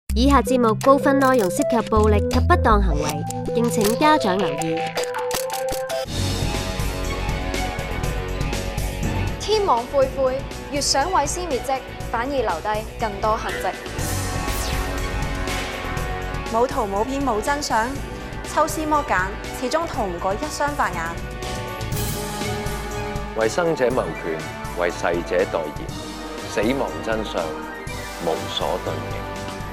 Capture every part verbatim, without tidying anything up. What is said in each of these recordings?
以下節目部分內容涉及暴力及不當行為，敬請家長留意。 天網恢恢，越想毀屍滅跡，反而留低更多痕跡。 冇圖冇片冇真相，抽絲剝繭，始終逃唔過一雙法眼。 為生者謀權，為逝者代言，死亡真相無所遁形。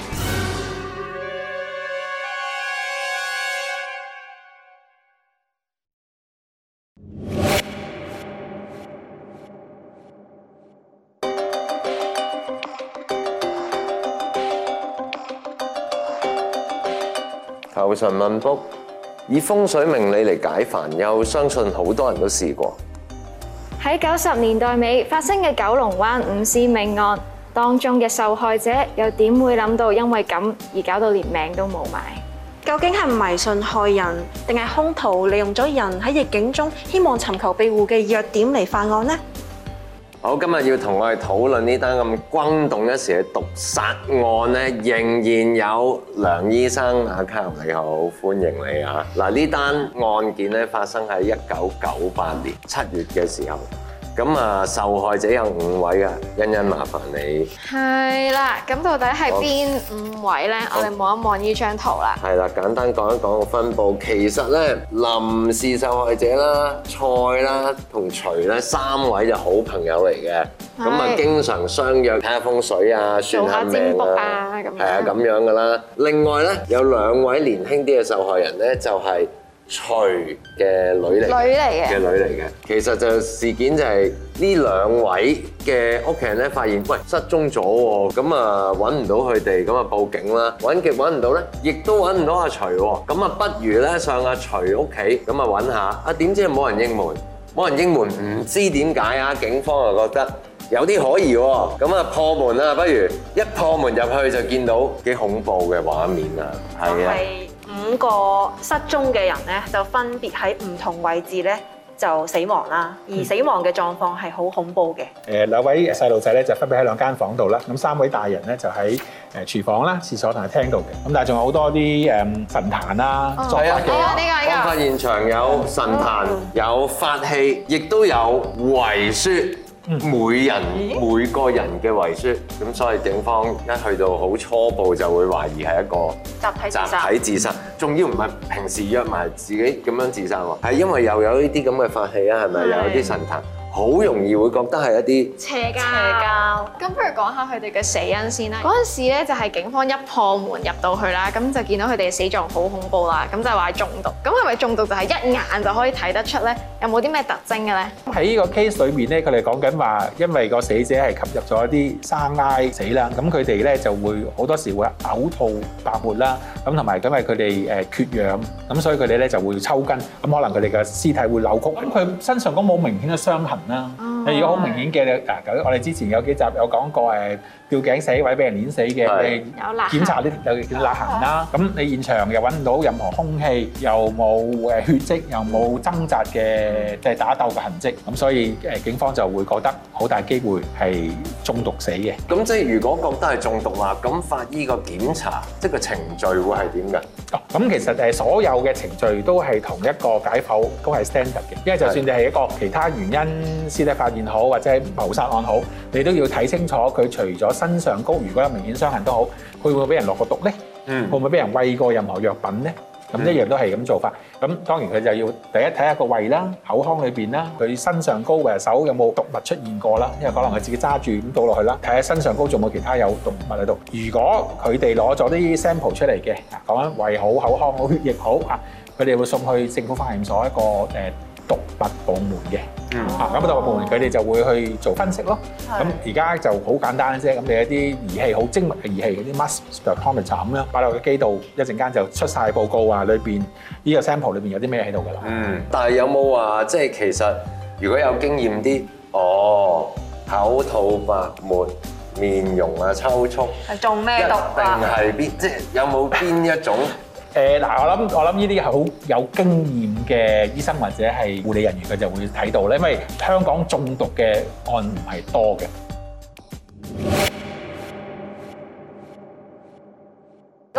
求神問卜，以風水命理嚟解煩憂，相信好多人都試過。 喺九十年代尾發生嘅九龍灣五屍命案，當中嘅受害者又點會諗到因為咁而搞到連命都冇埋？ 究竟係迷信害人，定係兇徒利用咗人喺逆境中希望尋求庇護嘅弱點嚟犯案呢？ 好，今日要同我哋討論呢單咁轟動一時嘅毒殺案咧，仍然有梁醫生。阿卡林你好，歡迎你啊！嗱，呢單案件咧發生喺一九九八年七月嘅時候，咁啊受害者有五位啊，欣欣麻煩你。 係啦，咁到底係邊五位咧？我哋望一望呢張圖啦。 係啦，簡單講一講個分佈。其實咧，林氏受害者啦、蔡啦同徐咧三位就好朋友嚟嘅，咁啊經常相約睇下風水啊、算下命啊，係啊咁樣噶啦。另外咧有兩位年輕啲嘅受害人咧，就係徐嘅女嚟，女嚟嘅嘅女嚟嘅。其實就事件就係呢兩位嘅屋企人咧，發現喂失蹤咗喎，咁啊揾唔到佢哋，咁啊報警啦，揾極揾唔到咧，亦都揾唔到阿徐喎，咁啊不如咧上阿徐屋企，咁啊揾下，啊點知冇人應門，冇人應門，唔知點解啊，警方又覺得有啲可疑喎，咁啊破門啦，不如一破門入去就見到幾恐怖嘅畫面啊，係啊。 五個失蹤嘅人咧，就分別喺唔同位置咧就死亡啦，而死亡嘅狀況係好恐怖嘅。 誒兩位細路仔咧就分別喺兩間房度啦，咁三位大人咧就喺誒廚房啦、廁所同埋廳度嘅，咁但係仲有好多啲誒神壇啦、作法嘅。 案發現場有神壇、有法器，亦都有遺書。每人每個人嘅遺書，咁所以警方一去到好初步就會懷疑係一個集體自殺， 集體自殺，仲要唔係平時約埋自己咁樣自殺喎，係因為又有呢啲咁嘅法器啊，係咪有啲神壇？好容易會覺得係一啲邪教。邪教。咁不如講下佢哋嘅死因先啦。嗰陣時咧就係警方一破門入到去啦，咁就見到佢哋嘅死狀好恐怖啦，咁就話中毒。咁係咪中毒就係一眼就可以睇得出咧？有冇啲咩特徵嘅咧？ 喺呢個 case 裏面咧，佢哋講緊話，因為個死者係吸入咗一啲生埃死啦，咁佢哋咧就會好多時會嘔吐、白沫啦，咁同埋因為佢哋誒缺氧，咁所以佢哋咧就會抽筋，咁可能佢哋嘅屍體會扭曲。咁佢身上都冇明顯嘅傷痕啦。你如果好明顯嘅，嗱，我哋之前有幾集有講過誒吊頸死或者俾人碾死嘅，你檢查啲有啲勒痕啦。咁你現場又揾唔到任何兇器，又冇誒血跡，又冇掙扎嘅即係打鬥嘅痕跡，咁所以誒警方就會覺得好大機會係中毒死嘅。 咁即係如果覺得係中毒啦，咁法醫個檢查即係個程序會係點㗎？ 哦，咁其實誒所有嘅程序都係同一個解剖都係 standard 嘅，因為就算你係一個其他原因屍體發現好或者係謀殺案好，你都要睇清楚佢除咗身上高，如果有明顯傷痕都好，佢會唔會俾人落過毒咧？嗯，會唔會俾人餵過任何藥品咧？咁一樣都係咁做法。咁當然佢就要第一睇下個胃啦、口腔裏邊啦，佢身上高嘅手有冇毒物出現過啦？因為可能佢自己揸住咁倒落去啦，睇下身上高仲有冇其他有毒物喺度。如果佢哋攞咗啲 sample 出嚟嘅，講緊胃好、口腔好、血液好啊，佢哋會送去政府化驗所一個誒毒物部門嘅。嗯，啊咁毒物部門佢哋就會去做分析咯。咁而家就好簡單啫，咁你一啲儀器好精密嘅儀器，嗰啲 mass spectrometer 咁樣擺落個機度，一陣間就出晒報告話裏邊呢個 sample 裏邊有啲咩喺度㗎啦。 嗯，但係有冇話即係其實如果有經驗啲，哦口吐白沫、面容啊抽搐， 係中咩毒啊？ 定係邊即係有冇邊一種？ 誒嗱，我諗我諗呢啲係好有經驗嘅醫生或者係護理人員，佢就會睇到咧，因為香港中毒嘅案唔係多嘅。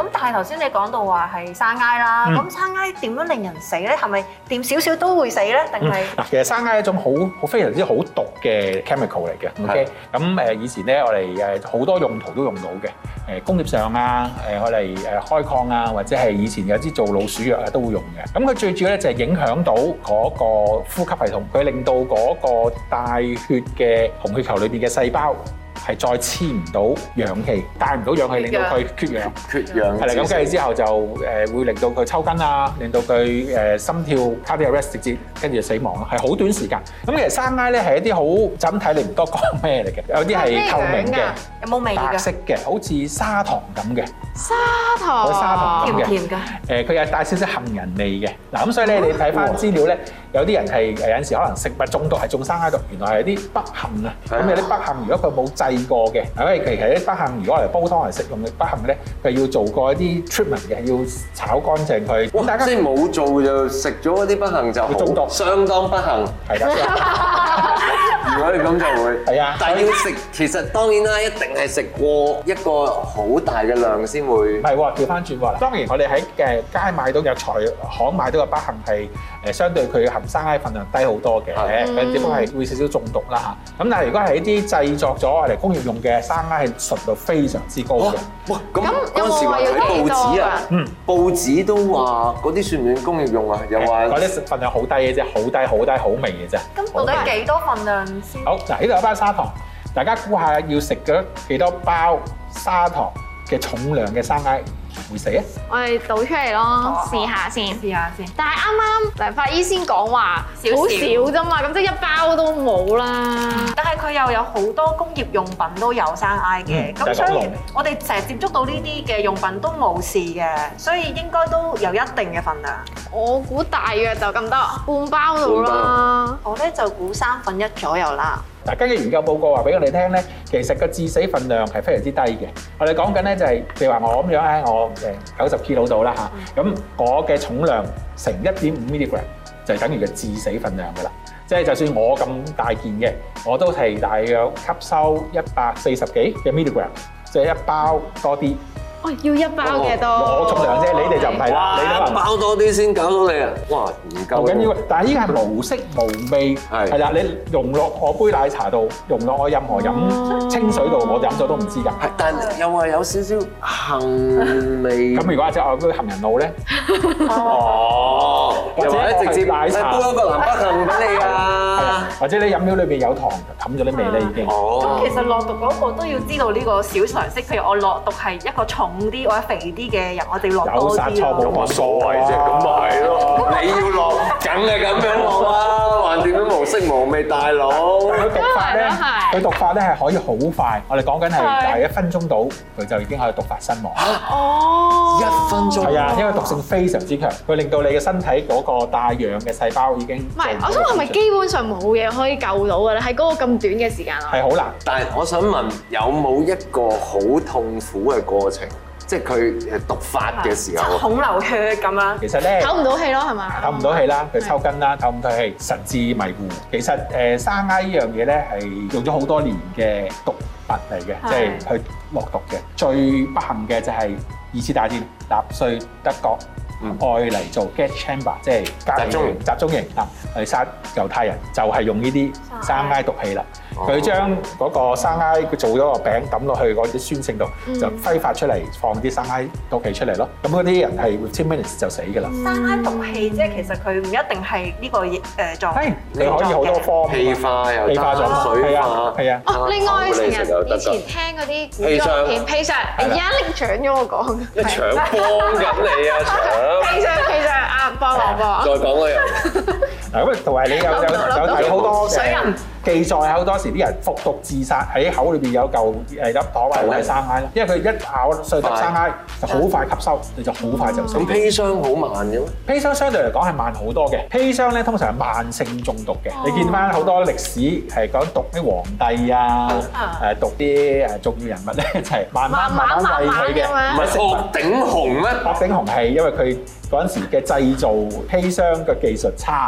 但係頭先你講到話係生埃啦，咁生埃點樣令人死咧？係咪掂少少都會死咧？定係嗱，其實生埃係一種好好非常之好毒嘅 chemical 嚟嘅。OK，咁誒以前咧，我哋誒好多用途都用到嘅，誒工業上啊，誒我哋誒開礦啊，或者係以前有啲做老鼠藥啊都會用嘅。咁佢最主要咧就係影響到嗰個呼吸系統，佢令到嗰個帶血嘅紅血球裏邊嘅細胞係再黐唔到氧氣，帶唔到氧氣，令到佢缺氧。 缺氧係啦，咁跟住之後就誒會令到佢抽筋啊，令到佢誒心跳 cardiac arrest 直接跟住就死亡咯，係好短時間。咁其實生埃咧係一啲好就咁睇你唔多講咩嚟嘅，有啲係透明嘅， 有冇味㗎？ 白色嘅，好似砂糖咁嘅。 砂糖， 好似砂糖咁嘅， 甜唔甜㗎？ 誒，佢有帶少少杏仁味嘅。嗱，咁所以咧，你睇翻資料咧，有啲人係誒有陣時可能食物中毒係中生埃毒，原來係啲北杏啊。咁有啲北杏，如果佢冇製過嘅，因為其實啲北杏如果嚟煲湯嚟食用嘅北杏咧，佢要做過一啲 treatment 嘅，要炒乾淨佢。 咁大家即係冇做就食咗嗰啲北杏就會中毒， 相當不幸。 係啦。 如果你咁就會係啊， 但係要食，其實當然啦，一定係食過一個好大嘅量先會。 唔係喎，調翻轉喎。當然我哋喺誒街買到嘅菜行買到嘅北杏係誒相對佢嘅含生埃份量低好多嘅，佢只不過係會少少中毒啦嚇。咁但係如果係一啲製作咗嚟工業用嘅生埃係純度非常之高嘅。 哇！咁嗰陣時話睇報紙啊，嗯，報紙都話嗰啲算唔算工業用啊？又話嗰啲份量好低嘅啫，好低好低好微嘅啫。 咁到底幾多份量先？ 好，嗱，呢度有包砂糖，大家估下要食咗幾多包砂糖嘅重量嘅生埃會死啊？ 我哋倒出嚟咯，試下先。 試下先。 但係啱啱梁法醫先講話好少啫嘛，咁即係一包都冇啦。 但係佢又有好多工業用品都有生埃嘅，咁所以我哋成日接觸到呢啲嘅用品都冇事嘅，所以應該都有一定嘅份量。 我估大約就咁多，半包到啦。 我咧就估三分一左右啦。 嗱，根據研究報告話俾我哋聽咧，其實個致死份量係非常之低嘅。我哋講緊咧就係，譬如話我咁樣咧，我誒九十 kilo 到啦嚇，咁我嘅重量乘一點五 milligram 就係等於嘅致死份量㗎啦。即係就算我咁大件嘅，我都係大約吸收一百四十幾嘅 milligram， 即係一包多啲。 哦，要一包嘅多， 我重量啫，你哋就唔係啦，你可能包多啲先搞到你啊！哇，唔夠。 唔緊要，但係依個係無色無味，係係啦，你溶落我杯奶茶度，溶落我任何飲清水度，我飲咗都唔知㗎。 係，但係又話有少少杏味。 咁如果係隻我杯杏仁露咧？ 哦，或者直接奶茶煲一個南北杏俾你啊！ 或者你飲料裏邊有糖冚咗啲味咧已經。 哦。咁其實落毒嗰個都要知道呢個小常識，譬如我落毒係一個重啲或者肥啲嘅人，我哋落多啲咯。有殺錯冇乜所謂啫，咁咪係咯。你要落，梗係咁樣落啦，橫掂都無色無味，大佬。 佢毒發咧，佢毒發咧係可以好快，我哋講緊係大約一分鐘到，佢就已經可以毒發身亡。 哦， 一分鐘。 係啊，因為毒性非常之強，佢令到你嘅身體嗰個帶氧嘅細胞已經唔係，我想問係咪基本上冇嘢可以救到嘅咧？喺嗰個咁短嘅時間啊？ 係好難。 但係我想問，有冇一個好痛苦嘅過程？即係佢誒毒發嘅時候， 孔流血咁樣。 其實咧， 唞唔到氣咯，係嘛？ 唞唔到氣啦，佢抽筋啦，唞唔到氣，神志迷糊。其實誒生埃呢樣嘢咧係用咗好多年嘅毒物嚟嘅，即係去落毒嘅。最不幸嘅就係二次大戰納粹德國愛嚟做 gas chamber， 即係集中營集中營啊，去殺猶太人，就係用呢啲生埃毒氣啦。佢將嗰個生埃佢做咗個餅抌落去嗰啲酸性度，就揮發出嚟，放啲生埃毒氣出嚟咯。咁嗰啲人係 within minutes 就死㗎啦。 生埃毒氣即係其實佢唔一定係呢個誒狀態， 你可以好多方氣化又氣化咗水化， 係啊。 哦，另外成日以前聽嗰啲古裝片，砒霜，而家拎搶咗我講， 你搶幫緊你啊搶！ 砒霜砒霜啊，幫我幫。 再講啦又。 嗱咁同埋你有有有睇好多誒記載，好多時啲人服毒自殺喺口裏邊有嚿誒粒糖或者係生埃啦，因為佢一咬碎粒生埃就好快吸收，你就好快就死。 咁砒霜好慢嘅咩？ 砒霜相對嚟講係慢好多嘅。砒霜咧通常係慢性中毒嘅。你見翻好多歷史係講毒啲皇帝啊，誒毒啲誒重要人物咧，就係慢慢慢慢餵佢嘅。 唔係鶴頂紅咩？ 鶴頂紅係因為佢嗰陣時嘅製造砒霜嘅技術差。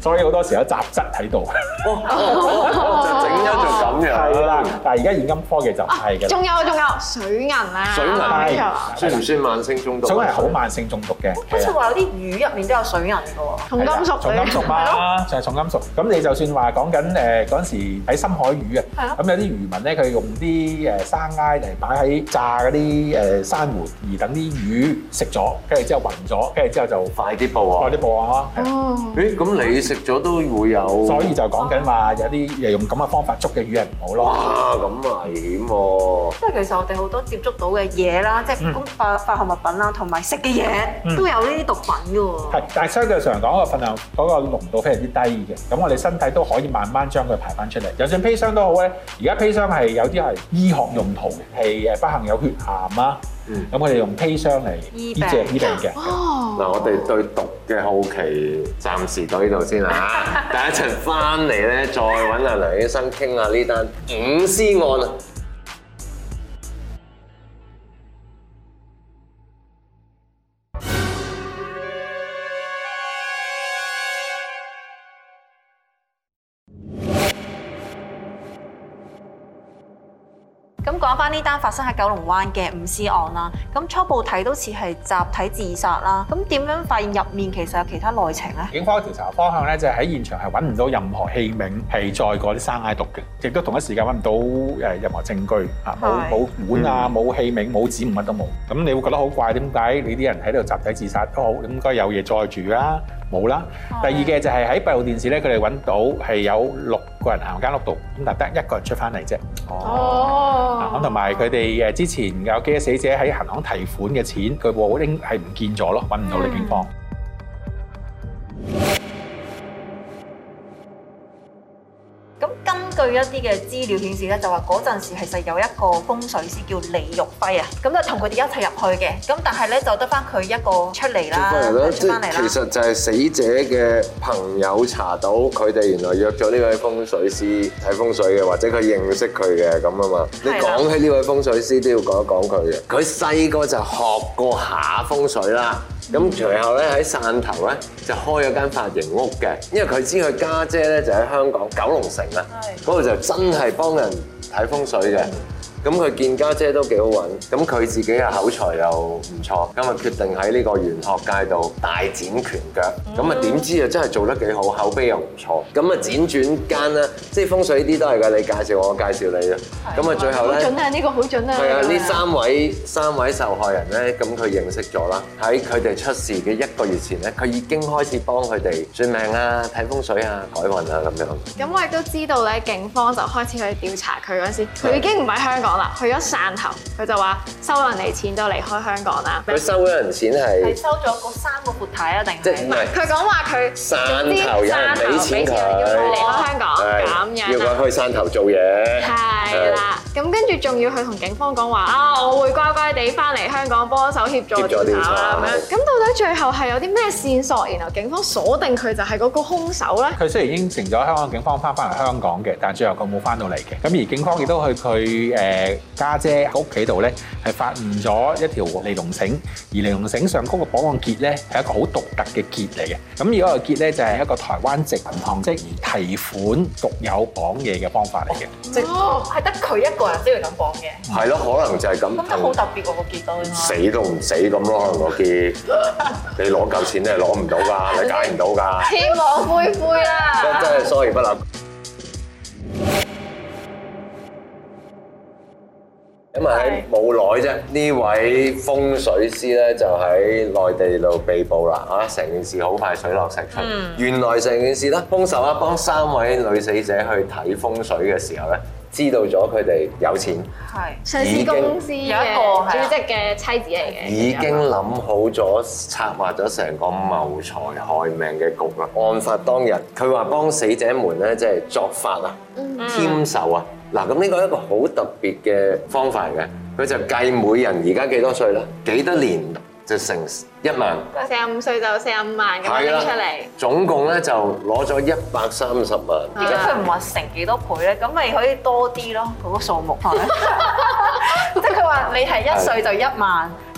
所以好多時有雜質喺度。 就整咗做咁樣。 係啦，但係而家現今科技就唔係嘅。 仲有仲有水銀啊！ 水銀係算唔算慢性中毒？ 水銀係好慢性中毒嘅。 好似話有啲魚入面都有水銀㗎喎。 重金屬， 重金屬嘛，就係重金屬。咁你就算話講緊誒嗰陣時喺深海魚啊，咁有啲漁民咧，佢用啲誒生埃嚟擺喺炸嗰啲誒珊瑚，而等啲魚食咗，跟住之後暈咗，跟住之後就快啲報啊！ 快啲報啊！ 哦， 誒咁你食咗都會有， 所以就講緊話有啲誒用咁嘅方法捉嘅魚係唔好咯。 哇，咁危險喎！ 即係其實我哋好多接觸到嘅嘢啦，即係化化學物品啦，同埋食嘅嘢都有呢啲毒品㗎喎。 係，但係相對上講個份量嗰個濃度非常之低嘅，咁我哋身體都可以慢慢將佢排翻出嚟。就算砒霜都好咧，而家砒霜係有啲係醫學用途嘅，係誒不幸有血癌啊，咁我哋用砒霜嚟醫治醫病嘅。 哦， 嗱，我哋對毒嘅好奇暫時到呢度先啦，第一陣翻嚟咧，再揾阿梁醫生傾下呢單五屍案啊！ 咁講翻呢單發生喺九龍灣嘅五屍案啦，咁初步睇都似係集體自殺啦。咁點樣發現入面其實有其他內情咧？ 警方調查方向咧就係喺現場係揾唔到任何器皿係載過啲生埃毒嘅，亦都同一時間揾唔到誒任何證據啊，冇冇碗啊，冇器皿，冇指紋，乜都冇。咁你會覺得好怪，點解你啲人喺度集體自殺都好，應該有嘢載住啦？冇啦。第二嘅就係喺閉路電視咧，佢哋揾到係有六個人行間屋度，咁但得一個人出翻嚟啫。 哦。 咁同埋佢哋誒之前有幾個死者喺銀行提款嘅錢，佢部應係唔見咗咯，揾唔到呢警方。 咁根據一啲嘅資料顯示咧，就話嗰陣時其實有一個風水師叫李玉輝啊，咁就同佢哋一齊入去嘅，咁但係咧就得翻佢一個出嚟啦，出翻嚟啦。 其實就係死者嘅朋友查到佢哋原來約咗呢位風水師睇風水嘅，或者佢認識佢嘅咁啊嘛。你講起呢位風水師都要講一講佢嘅，佢細個就學過下風水啦。咁隨後咧喺汕頭咧就開咗間髮型屋嘅，因為佢知佢家姐咧就喺香港九龍城啊，嗰度就真係幫人睇風水嘅。咁佢見家姐都幾好揾，咁佢自己嘅口才又唔錯，咁啊決定喺呢個玄學界度大展拳腳。咁啊點知啊真係做得幾好，口碑又唔錯。咁啊輾轉間啦，即係風水呢啲都係㗎，你介紹我，我介紹你啊。咁啊最後咧， 好準啊！呢個好準啊！ 係啊，呢三位三位受害人咧，咁佢認識咗啦。喺佢哋出事嘅一個月前咧，佢已經開始幫佢哋算命啊、睇風水啊、改運啊咁樣。 咁我亦都知道咧，警方就開始去調查佢嗰陣時，佢已經唔喺香港啦，去咗汕頭。佢就話收人哋錢就離開香港啦。 佢收咗人錢係係收咗嗰三個闊太啊，定即係唔係？ 佢講話佢汕頭有人俾錢佢， 要佢離開香港咁樣， 要佢去汕頭做嘢。 係啦，咁跟住仲要去同警方講話啊，我會乖乖地翻嚟香港幫手協助調查啦咁樣。咁到底最後係有啲咩線索，然後警方鎖定佢就係嗰個兇手咧？ 佢雖然應承咗香港警方翻返嚟香港嘅，但係最後佢冇翻到嚟嘅。咁而警方亦都去佢誒家姐屋企度咧，係發現咗一條尼龍繩，而尼龍繩上嗰個綁案結咧係一個好獨特嘅結嚟嘅。咁而嗰個結咧就係一個台灣籍銀行職員提款獨有綁嘢嘅方法嚟嘅。 即係得佢一個人先會咁綁嘅。 係咯，可能就係咁。 咁都好特別喎個結都應該。 死都唔死咁咯，可能個結。你攞夠錢你係攞唔到㗎，你解唔到㗎。 天網恢恢啦！ 真真係 sorry 不嬲。咁啊喺冇耐啫，呢位風水師咧就喺內地度被捕啦嚇，成件事好快水落石出。嗯、原來成件事咧，兇手啊幫三位女死者去睇風水嘅時候咧，知道咗佢哋有錢， 係上市公司嘅主席嘅妻子嚟嘅， 已經諗好咗策劃咗成個謀財害命嘅局啦。案發當日，佢話幫死者們咧即係作法啊、添壽啊。嗱，咁呢個係一個好特別嘅方法嚟嘅，佢就計每人而家幾多歲啦，幾多年就成一萬， 四十五歲就四十五萬咁樣拎出嚟， 總共咧就攞咗一百三十萬。 點解佢唔話成幾多倍咧？咁咪可以多啲咯，嗰個數目係咪？即係佢話你係一歲就一萬，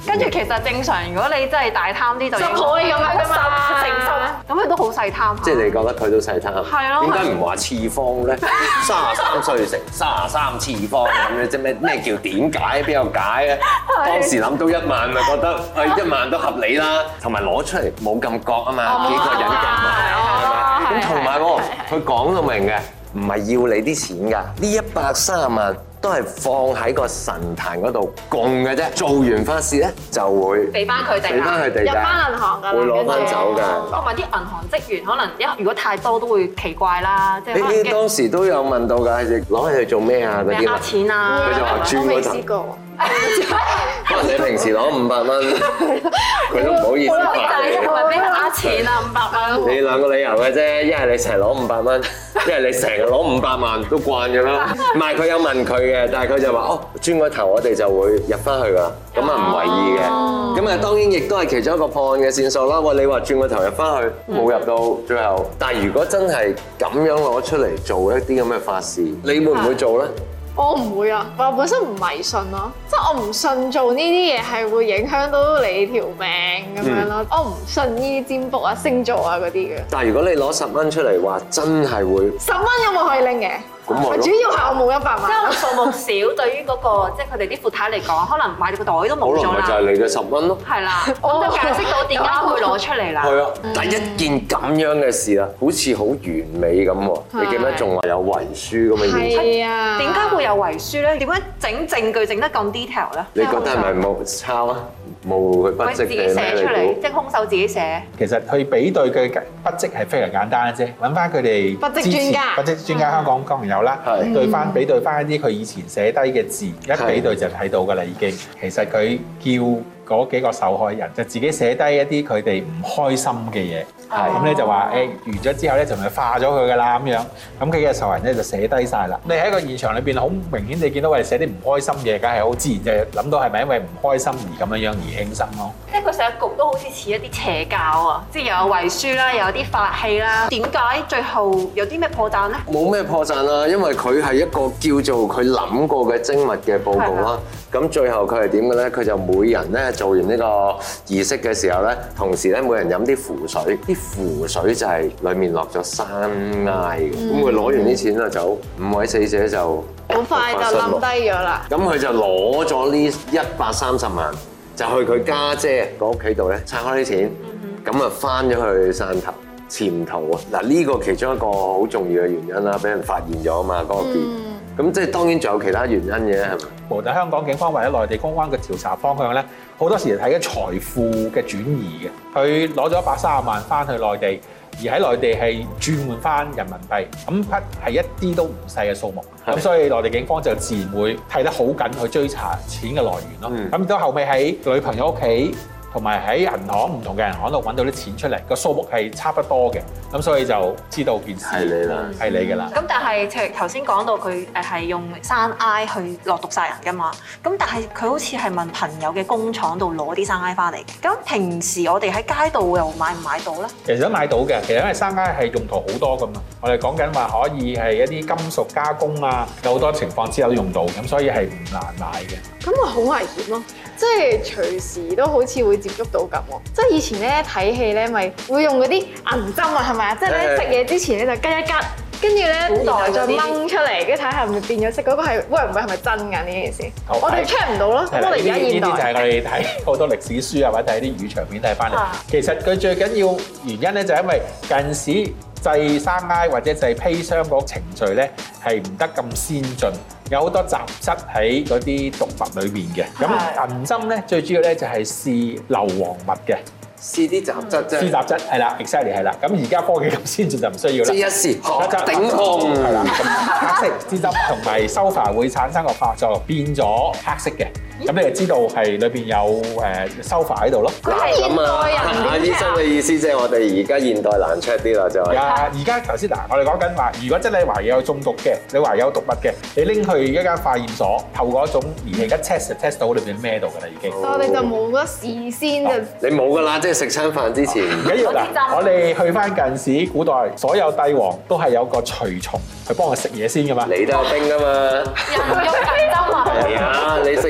跟住其實正常，如果你真係大貪啲就就可以咁樣㗎嘛成十，咁佢都好細貪。 即係你覺得佢都細貪？ 係咯。 點解唔話次方咧？三十三歲乘三十三次方咁樣，即咩咩叫點解？邊有解啊？當時諗到一萬咪覺得誒一萬都合理啦，同埋攞出嚟冇咁覺啊嘛，幾個人夾埋係咪？咁同埋喎，佢講到明嘅，唔係要你啲錢㗎，呢一百三十萬。都係放喺個神壇嗰度供嘅啫，做完法事咧就會俾翻佢哋， 俾翻佢哋入翻銀行㗎啦， 會攞翻走㗎。 同埋啲銀行職員可能一如果太多都會奇怪啦，即係可能你當時都有問到㗎，攞去做咩啊？嗰啲呃錢啊， 佢就話轉我未嗰頭。 試過。 可能你平時攞五百蚊，佢都唔好意思還你。 係咪俾佢呃錢啊？五百蚊。 你兩個理由嘅啫，一係你成日攞五百蚊，一係你成日攞五百萬都慣咗啦。唔係佢有問佢嘅，但係佢就話哦，轉個頭我哋就會入翻去㗎，咁啊唔為意嘅。咁啊當然亦都係其中一個破案嘅線索啦。喂，你話轉個頭入翻去，冇入到最後。但係如果真係咁樣攞出嚟做一啲咁嘅法事，你會唔會做咧？ 我唔會啊，我本身唔迷信咯，即係我唔信做呢啲嘢係會影響到你條命咁樣咯。我唔信呢啲占卜啊、星座啊嗰啲嘅。 但係如果你攞十蚊出嚟話，真係會十蚊有冇可以拎嘅？ 咁咪咯主要係我冇一百即係萬。 數目少，對於嗰個即係佢哋啲闊太嚟講，可能買到個袋都冇咗可能咪就係啦。 你嘅十蚊咯。 係啦，咁就解釋到點解會攞出嚟啦。 係啊，第一件咁樣嘅事啊，好似好完美咁喎。你記唔記得仲話有遺書咁嘅嘢？ 係啊。 點解會有遺書咧？點解整證據整得咁 detail 咧？ 你覺得係咪冇抄啊？冇佢筆跡佢自己寫出嚟，即係兇手自己寫。 其實去比對佢嘅筆跡係非常簡單嘅啫，揾翻佢哋筆跡之前專家筆跡專家香港當然有啦， 係對翻比對翻一啲佢以前寫低嘅字，一比對就睇到㗎啦已經。其實佢叫嗰幾個受害人就自己寫低一啲佢哋唔開心嘅嘢，咁咧就話誒完咗之後咧就咪化咗佢㗎啦咁樣，咁佢嘅受害人咧就寫低晒啦。你喺個現場裏邊好明顯，你見到佢哋寫啲唔開心嘅嘢，梗係好自然就諗到係咪因為唔開心而咁樣樣而輕生咯。 即係佢成個局都好似似一啲邪教啊！即係又有遺書啦，又有啲法器啦。點解最後有啲咩破綻咧？ 冇咩破綻啦，因為佢係一個叫做佢諗過嘅精密嘅報告啦。咁最後佢係點嘅咧？佢就每人咧做完呢個儀式嘅時候咧，同時咧每人飲啲符水，啲符水就係裡面落咗山埃嘅。咁佢攞完啲錢就走，五位死者就好快就冧低咗啦。 咁佢就攞咗呢一百三十萬，就去佢家姐個屋企度咧拆開啲錢，咁啊翻咗去汕頭潛逃啊！嗱呢個其中一個好重要嘅原因啦，俾人發現咗啊嘛嗰個邊。咁即係當然仲有其他原因嘅係咪？ 無論香港警方或者內地公安嘅調查方向咧，好多時係睇緊財富嘅轉移嘅。佢攞咗一百三十萬翻去內地，而喺內地係轉換翻人民幣，咁筆係一啲都唔細嘅數目。咁所以內地警方就自然會睇得好緊去追查錢嘅來源咯。咁到後尾喺女朋友屋企，同埋喺銀行唔同嘅銀行度揾到啲錢出嚟，個數目係差不多嘅，咁所以就知道件事係你啦， 係你嘅啦。 咁但係即係頭先講到佢誒係用山埃去落毒殺人㗎嘛，咁但係佢好似係問朋友嘅工廠度攞啲山埃翻嚟嘅。咁平時我哋喺街度又買唔買到咧？ 其實都買到嘅，其實因為山埃係用途好多㗎嘛。我哋講緊話可以係一啲金屬加工啊，有好多情況之下都用到，咁所以係唔難買嘅。 咁咪好危險咯！即係隨時都好似會接觸到咁喎。即係以前咧睇戲咧，咪會用嗰啲銀針啊，係咪啊？即係咧食嘢之前咧就吉一吉，跟住咧然後再掹出嚟，跟住睇下係咪變咗色。嗰個係會唔會係咪真㗎呢件事？我哋 check 唔到咯。咁我哋而家現代呢啲就係我哋睇好多歷史書啊，或者睇啲語長片睇翻嚟。其實佢最緊要原因咧，就係因為近時製山埃或者製砒霜嗰個程序咧係唔得咁先進。有好多雜質喺嗰啲毒物裏面嘅，咁銀針咧最主要咧就係試硫磺物嘅， 試啲雜質啫。 試雜質係啦 ，exactly 係啦。咁而家科技咁先進就唔需要啦。 即一試頂控係啦，咁黑色支針同埋收發會產生個化作變咗黑色嘅，咁你就知道係裏邊有誒收發喺度咯。 咁現代人阿醫生嘅意思即係我哋而家現代難 check 啲啦，就係。 啊！而家頭先嗱，我哋講緊話，如果真係懷疑有中毒嘅，你懷疑有毒物嘅，你拎去一間化驗所，透過一種儀器一 test 就 test 到裏邊咩度㗎啦已經。 我哋就冇得事先就。 你冇㗎啦，即係食餐飯之前。 唔緊要嗱，我哋去翻近時古代，所有帝王都係有個隨從去幫佢食嘢先㗎嘛。 你都有兵㗎嘛？ 人肉銀針啊！ 係啊，你食嘢之前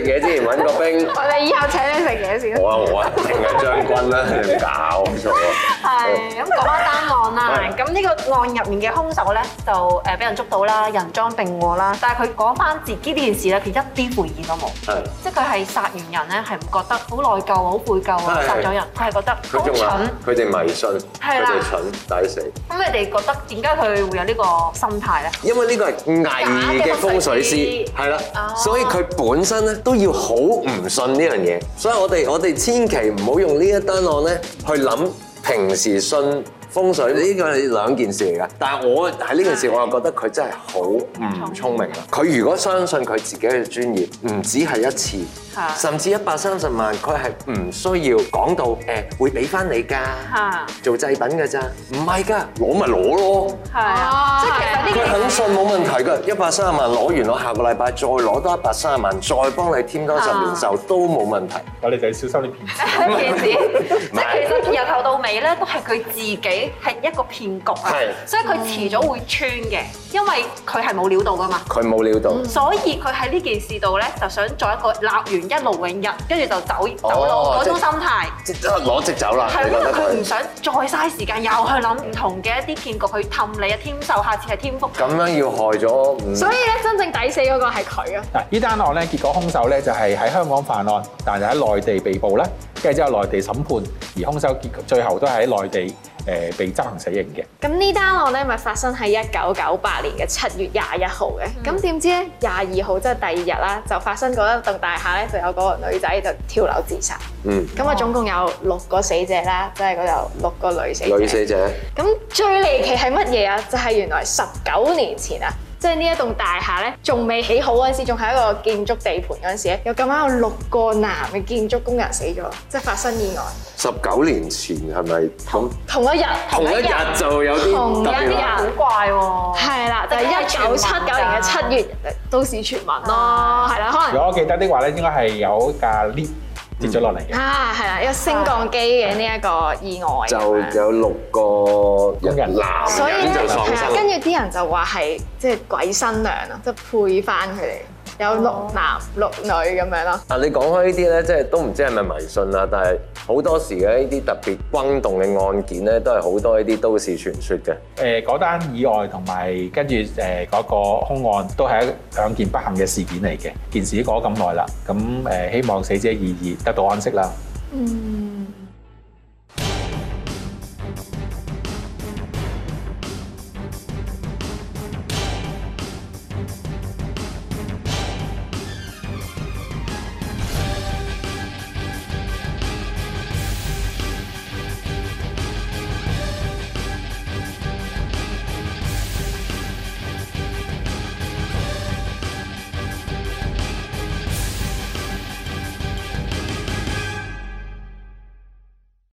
揾個兵。 我哋以後請你食嘢先。 好啊好啊，定係將軍啦，你唔搞錯啊！ 係咁講翻單案啦，咁呢個案入面嘅兇手咧就誒俾人捉到啦，人贓並獲啦，但係佢講翻自己呢件事咧，佢一啲悔意都冇， 係即係佢係殺完人咧係唔覺得好內疚、好悔疚啊，殺咗人，佢係覺得好蠢， 佢哋迷信，佢哋蠢抵死。 咁你哋覺得點解佢會有呢個心態咧？ 因為呢個係偽嘅風水師，係啦，所以佢本身咧都要好唔信呢樣嘢，所以我哋我哋千祈唔好用呢一單案咧去諗平時信風水呢個係兩件事嚟㗎，但係我喺呢件事我又覺得佢真係好唔聰明啦。佢如果相信佢自己嘅專業，唔止係一次，甚至一百三十萬，佢係唔需要講到誒會俾翻你㗎，做製品㗎咋，唔係㗎，攞咪攞咯。 係啊，即係其實呢佢肯信冇問題㗎，一百三十萬攞完，我下個禮拜再攞多一百三十萬，再幫你添多十年壽都冇問題。 我哋就要小心啲騙子。 騙子，即係其實由頭到尾咧，都係佢自己係一個騙局啊，所以佢遲早會穿嘅，因為佢係冇料到㗎嘛。 佢冇料到， 所以佢喺呢件事度咧，就想做一個立完一勞永逸，跟住就走走佬嗰種心態， 即係攞即走啦。 係因為佢唔想再嘥時間，又去諗唔同嘅一啲騙局去氹你啊，添壽，下次係添福。 咁樣要害咗， 所以咧真正抵死嗰個係佢啊！ 嗱，呢單案咧，結果兇手咧就係喺香港犯案，但係喺內地被捕啦，跟住之後內地審判，而兇手結最後都係喺內地誒被執行死刑嘅。 咁呢單案咧，咪發生喺一九九八年嘅七月廿一號嘅。咁點知咧，廿二號即係第二日啦，就發生嗰一棟大廈咧，就有嗰個女仔就跳樓自殺。 嗯。 咁啊，總共有六個死者啦，即係嗰度六個女死者。 女死者。 咁最離奇係乜嘢啊？就係原來十九年前啊！即係呢一棟大廈咧，仲未起好嗰陣時，仲係一個建築地盤嗰陣時咧，有咁啱有六個男嘅建築工人死咗，即係發生意外。 十九年前係咪咁？ 同一日， 同一日就有啲同一日， 好怪喎。 係啦，就係一九七九年嘅七月，都市傳聞咯，係啦，可能。 如果我記得的話咧，應該係有架 lift 跌咗落嚟嘅。 啊，係啦，有升降機嘅呢一個意外。 就有六個工人男所以咧， 人就喪係啦， 生。 跟住啲人就話係即係鬼新娘啊，即係配翻佢哋。有六男六女咁樣咯。 啊，你講開呢啲咧，即係都唔知係咪迷信啦，但係好多時嘅呢啲特別轟動嘅案件咧，都係好多呢啲都市傳說嘅。 誒嗰單意外同埋跟住誒嗰個兇案都係一兩件不幸嘅事件嚟嘅。件事過咗咁耐啦，咁誒希望死者已已得到安息啦。 嗯。